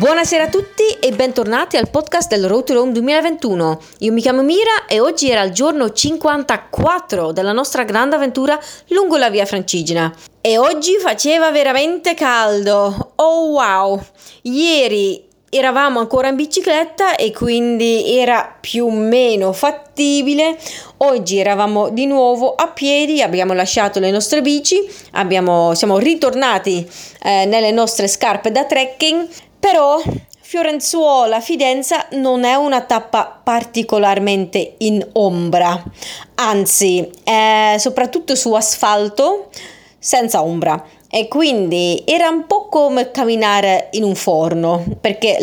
Buonasera a tutti e bentornati al podcast del Road to Rome 2021. Io mi chiamo Mira e oggi era il giorno 54 della nostra grande avventura lungo la via Francigena. E oggi faceva veramente caldo. Oh wow! Ieri eravamo ancora in bicicletta e quindi era più o meno fattibile. Oggi eravamo di nuovo a piedi, abbiamo lasciato le nostre bici, siamo ritornati nelle nostre scarpe da trekking. Però Fiorenzuola-Fidenza non è una tappa particolarmente in ombra, anzi soprattutto su asfalto senza ombra, e quindi era un po' come camminare in un forno, perché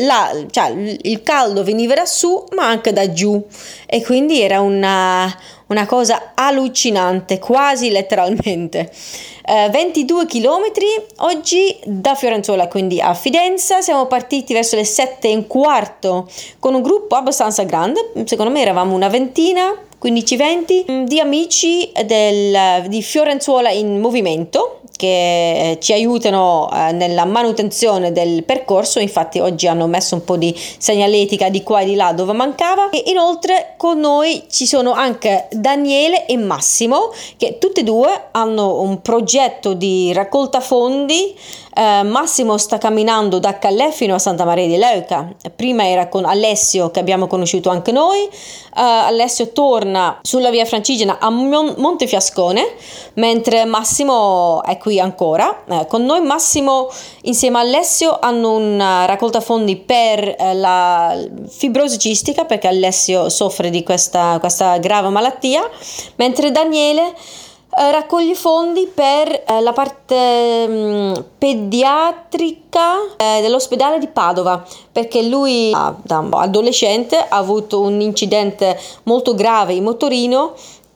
il caldo veniva da su ma anche da giù, e quindi era una cosa allucinante, quasi letteralmente. 22 chilometri oggi da Fiorenzuola, quindi a Fidenza. Siamo partiti verso le 7:15 con un gruppo abbastanza grande, secondo me eravamo una ventina, 15-20 di amici di Fiorenzuola in movimento, che ci aiutano nella manutenzione del percorso. Infatti oggi hanno messo un po' di segnaletica di qua e di là dove mancava, e inoltre con noi ci sono anche Daniele e Massimo, che tutti e due hanno un progetto di raccolta fondi. Massimo sta camminando da Calais fino a Santa Maria di Leuca. Prima era con Alessio, che abbiamo conosciuto anche noi. Alessio torna sulla via Francigena a Montefiascone, mentre Massimo è qui ancora con noi. Massimo insieme a Alessio hanno una raccolta fondi per la fibrosi cistica, perché Alessio soffre di questa grave malattia, mentre Daniele raccoglie fondi per la parte pediatrica dell'ospedale di Padova, perché lui da adolescente ha avuto un incidente molto grave in motorino,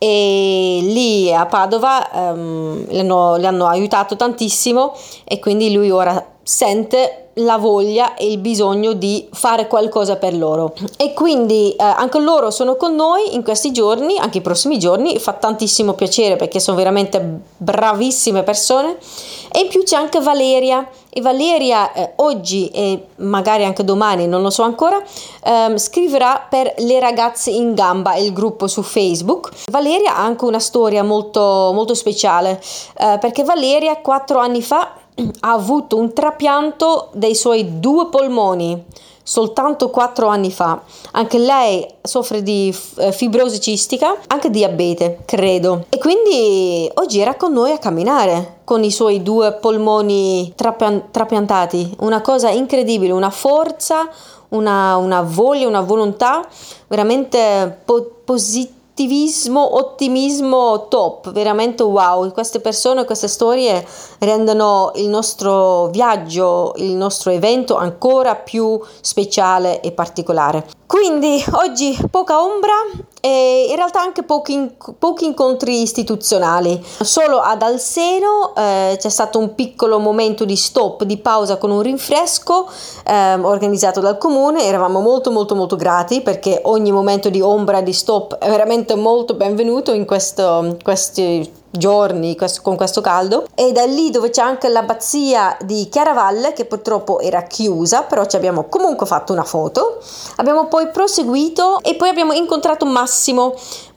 e lì a Padova le hanno aiutato tantissimo, e quindi lui ora sente la voglia e il bisogno di fare qualcosa per loro, e quindi anche loro sono con noi in questi giorni, anche i prossimi giorni. Fa tantissimo piacere perché sono veramente bravissime persone. E in più c'è anche Valeria, e Valeria oggi e magari anche domani, non lo so ancora, scriverà per Le Ragazze in Gamba, il gruppo su Facebook. Valeria ha anche una storia molto, molto speciale, perché Valeria 4 anni fa ha avuto un trapianto dei suoi 2 polmoni, soltanto 4 anni fa. Anche lei soffre di fibrosi cistica, anche diabete, credo, e quindi oggi era con noi a camminare con i suoi 2 polmoni trapiantati. Una cosa incredibile, una forza, una voglia, una volontà veramente ottimismo top, veramente wow. Queste persone, queste storie rendono il nostro viaggio, il nostro evento ancora più speciale e particolare. Quindi oggi poca ombra e in realtà anche pochi incontri istituzionali. Solo ad Alseno c'è stato un piccolo momento di stop, di pausa con un rinfresco organizzato dal comune. Eravamo molto molto molto grati, perché ogni momento di ombra, di stop è veramente molto benvenuto in questi giorni con questo caldo. E da lì, dove c'è anche l'abbazia di Chiaravalle, che purtroppo era chiusa, però ci abbiamo comunque fatto una foto. Abbiamo poi proseguito e poi abbiamo incontrato Massimo,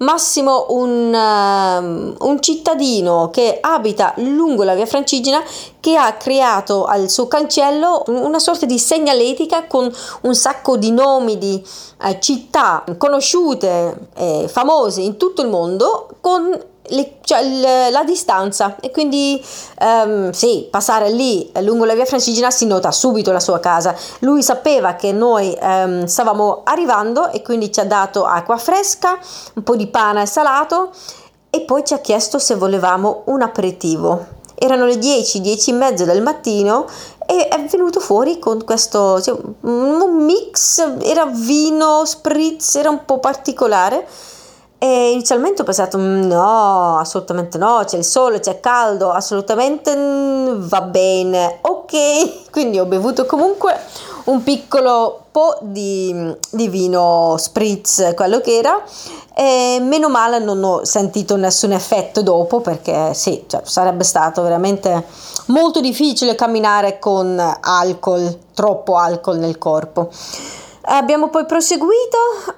un cittadino che abita lungo la via Francigena, che ha creato al suo cancello una sorta di segnaletica con un sacco di nomi di città conosciute e famose in tutto il mondo, con la distanza, e quindi passare lì lungo la via Francigena si nota subito la sua casa. Lui sapeva che noi stavamo arrivando, e quindi ci ha dato acqua fresca, un po' di pane salato, e poi ci ha chiesto se volevamo un aperitivo. Erano le 10:30 del mattino, e è venuto fuori con questo un mix, era vino, spritz, era un po' particolare. E inizialmente ho pensato no, assolutamente no, c'è il sole, c'è caldo, assolutamente va bene, ok. Quindi ho bevuto comunque un piccolo po' di vino spritz, quello che era, e meno male non ho sentito nessun effetto dopo, perché sì, cioè, sarebbe stato veramente molto difficile camminare con alcol, troppo alcol nel corpo. Abbiamo poi proseguito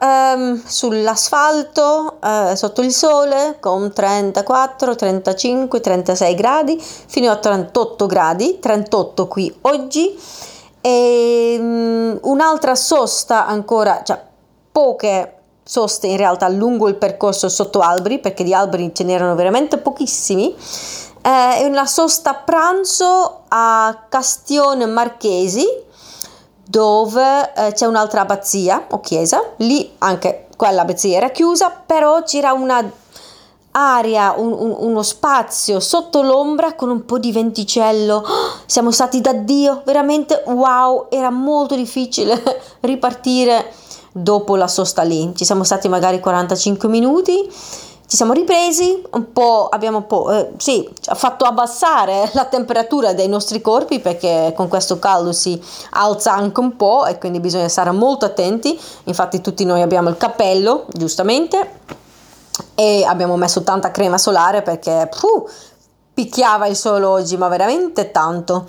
sull'asfalto sotto il sole con 34, 35, 36 gradi fino a 38 gradi, 38 qui oggi, e un'altra sosta ancora, cioè poche soste in realtà lungo il percorso sotto alberi, perché di alberi ce n'erano veramente pochissimi, e una sosta pranzo a Castione Marchesi, dove c'è un'altra abbazia o chiesa. Lì anche quella abbazia era chiusa, però c'era una area, uno spazio sotto l'ombra con un po' di venticello. Siamo stati da Dio, veramente wow, era molto difficile ripartire dopo la sosta lì. Ci siamo stati magari 45 minuti, ci siamo ripresi un po', abbiamo un po' ha fatto abbassare la temperatura dei nostri corpi, perché con questo caldo si alza anche un po' e quindi bisogna stare molto attenti. Infatti tutti noi abbiamo il cappello, giustamente, e abbiamo messo tanta crema solare perché picchiava il sole oggi, ma veramente tanto.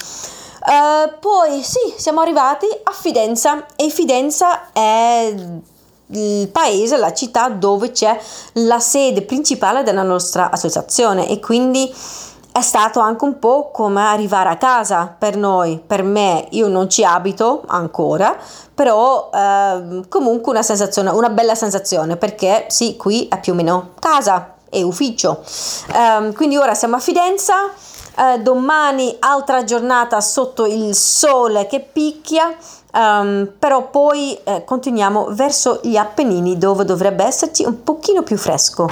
Poi sì, siamo arrivati a Fidenza, e Fidenza è il paese, la città dove c'è la sede principale della nostra associazione, e quindi è stato anche un po' come arrivare a casa per noi. Per me, io non ci abito ancora, però comunque una bella sensazione, perché sì, qui è più o meno casa e ufficio. Quindi ora siamo a Fidenza. Domani altra giornata sotto il sole che picchia, però poi continuiamo verso gli Appennini, dove dovrebbe esserci un pochino più fresco.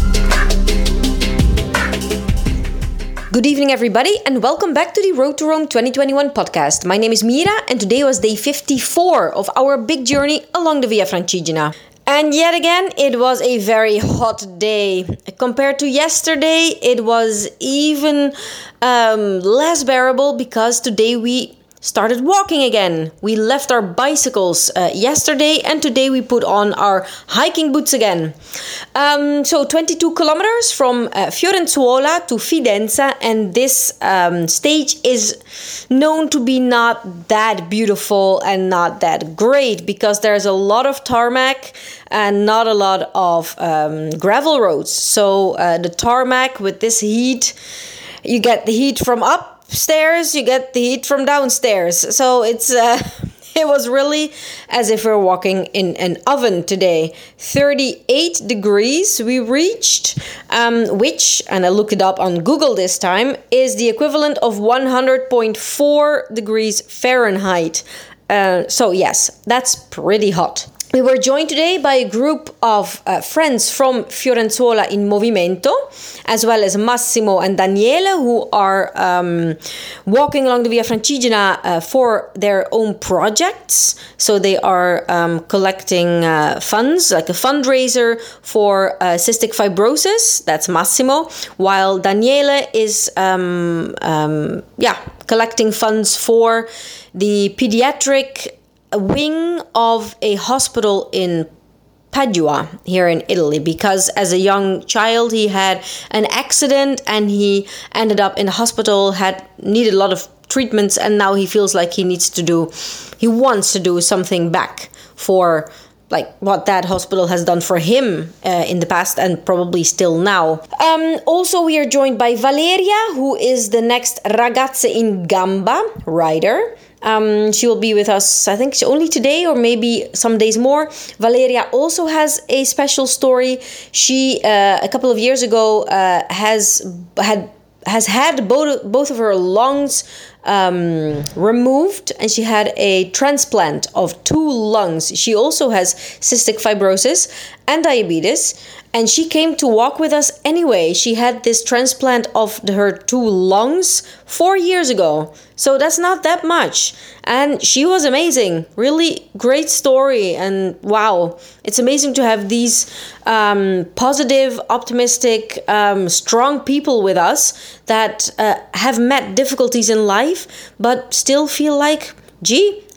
Good evening, everybody, and welcome back to the Road to Rome 2021 podcast. My name is Mira, and today was day 54 of our big journey along the Via Francigena. And yet again, it was a very hot day. Compared to yesterday, it was even less bearable, because today we started walking again. We left our bicycles yesterday, and today we put on our hiking boots again. So 22 kilometers from Fiorenzuola to Fidenza, and this stage is known to be not that beautiful and not that great, because there's a lot of tarmac and not a lot of gravel roads. So the tarmac, with this heat, you get the heat from upstairs, you get the heat from downstairs. So it's it was really as if we're walking in an oven today. 38 degrees we reached, which, and I looked it up on Google this time, is the equivalent of 100.4 degrees Fahrenheit. So yes, that's pretty hot. We were joined today by a group of friends from Fiorenzuola in Movimento, as well as Massimo and Daniele, who are walking along the Via Francigena for their own projects. So they are collecting funds, like a fundraiser for cystic fibrosis. That's Massimo, while Daniele is collecting funds for the pediatric wing of a hospital in Padua here in Italy, because as a young child he had an accident and he ended up in the hospital, had needed a lot of treatments, and now he feels like he wants to do something back for like what that hospital has done for him in the past, and probably still now. Also, we are joined by Valeria, who is the next Ragazze in Gamba rider. She will be with us, I think, only today or maybe some days more. Valeria also has a special story. She, a couple of years ago, has had both of her lungs removed, and she had a transplant of 2 lungs. She also has cystic fibrosis and diabetes, and she came to walk with us anyway. She had this transplant of her 2 lungs 4 years ago, so that's not that much, and she was amazing. Really great story, and wow, it's amazing to have these positive, optimistic, strong people with us that have met difficulties in life but still feel like, gee,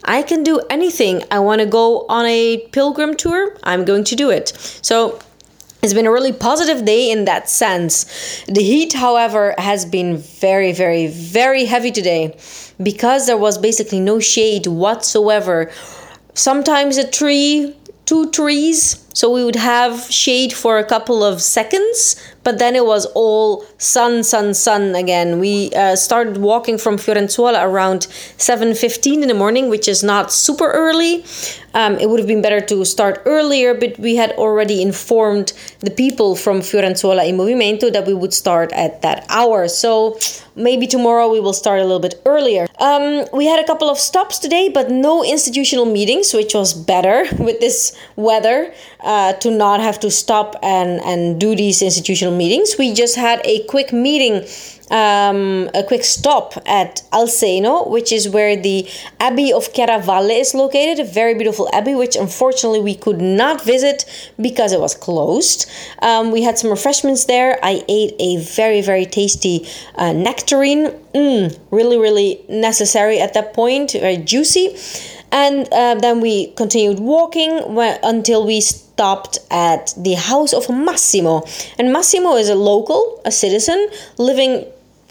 I can do anything. I want to go on a pilgrim tour, I'm going to do it. So it's been a really positive day in that sense. The heat, however, has been very, very, very heavy today because there was basically no shade whatsoever. Sometimes a tree, 2 trees, so we would have shade for a couple of seconds, but then it was all sun again. We started walking from Fiorenzuola around 7:15 in the morning, which is not super early. It would have been better to start earlier, but we had already informed the people from Fiorenzuola in Movimento that we would start at that hour. So maybe tomorrow we will start a little bit earlier. We had a couple of stops today, but no institutional meetings, which was better with this weather, to not have to stop and do these institutional meetings. We just had a quick meeting, a quick stop at Alseno, which is where the Abbey of Chiaravalle is located, a very beautiful abbey, which unfortunately we could not visit because it was closed. We had some refreshments there. I ate a very, very tasty nectarine. Really, really necessary at that point, very juicy. And then we continued walking until we stopped at the house of Massimo. And Massimo is a local, a citizen, living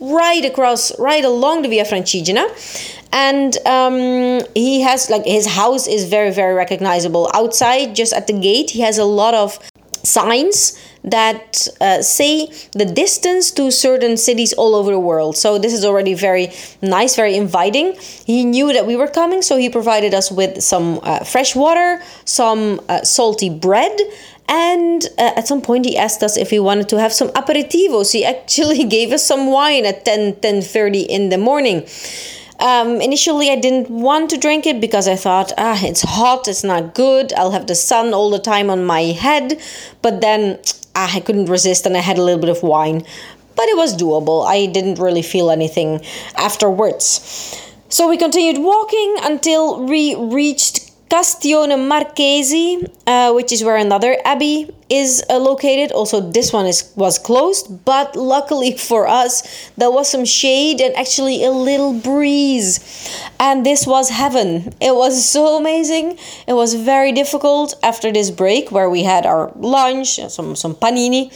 right along the Via Francigena. And he has, his house is very, very recognizable. Outside, just at the gate, he has a lot of signs that say the distance to certain cities all over the world. So this is already very nice, very inviting. He knew that we were coming, so he provided us with some fresh water, some salty bread, and at some point he asked us if we wanted to have some aperitivos. He actually gave us some wine at 10:30 in the morning. Initially, I didn't want to drink it because I thought, it's hot, it's not good. I'll have the sun all the time on my head. But then I couldn't resist and I had a little bit of wine. But it was doable. I didn't really feel anything afterwards. So we continued walking until we reached Castione Marchesi, which is where another abbey is located. Also, this one was closed, but luckily for us, there was some shade and actually a little breeze. And this was heaven. It was so amazing. It was very difficult after this break where we had our lunch, some panini,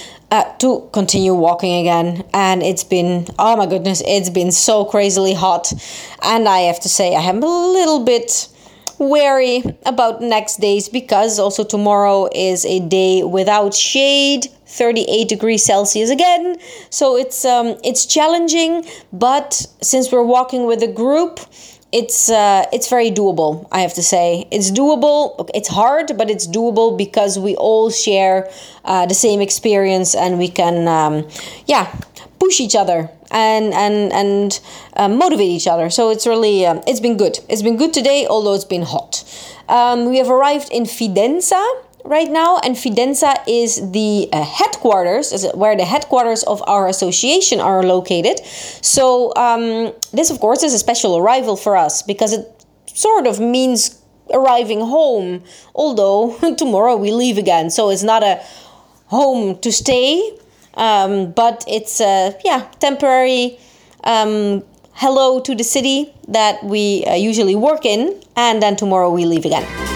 to continue walking again. And it's been, oh my goodness, it's been so crazily hot. And I have to say, I am a little bit wary about next days because also tomorrow is a day without shade, 38 degrees Celsius again. So it's challenging, but since we're walking with a group, it's very doable, I have to say. It's doable. It's hard, but it's doable because we all share the same experience and we can push each other and motivate each other. So it's really, it's been good. It's been good today, although it's been hot. We have arrived in Fidenza right now, and Fidenza is the headquarters, where the headquarters of our association are located. So this, of course, is a special arrival for us because it sort of means arriving home, although tomorrow we leave again. So it's not a home to stay, but it's temporary hello to the city that we usually work in, and then tomorrow we leave again.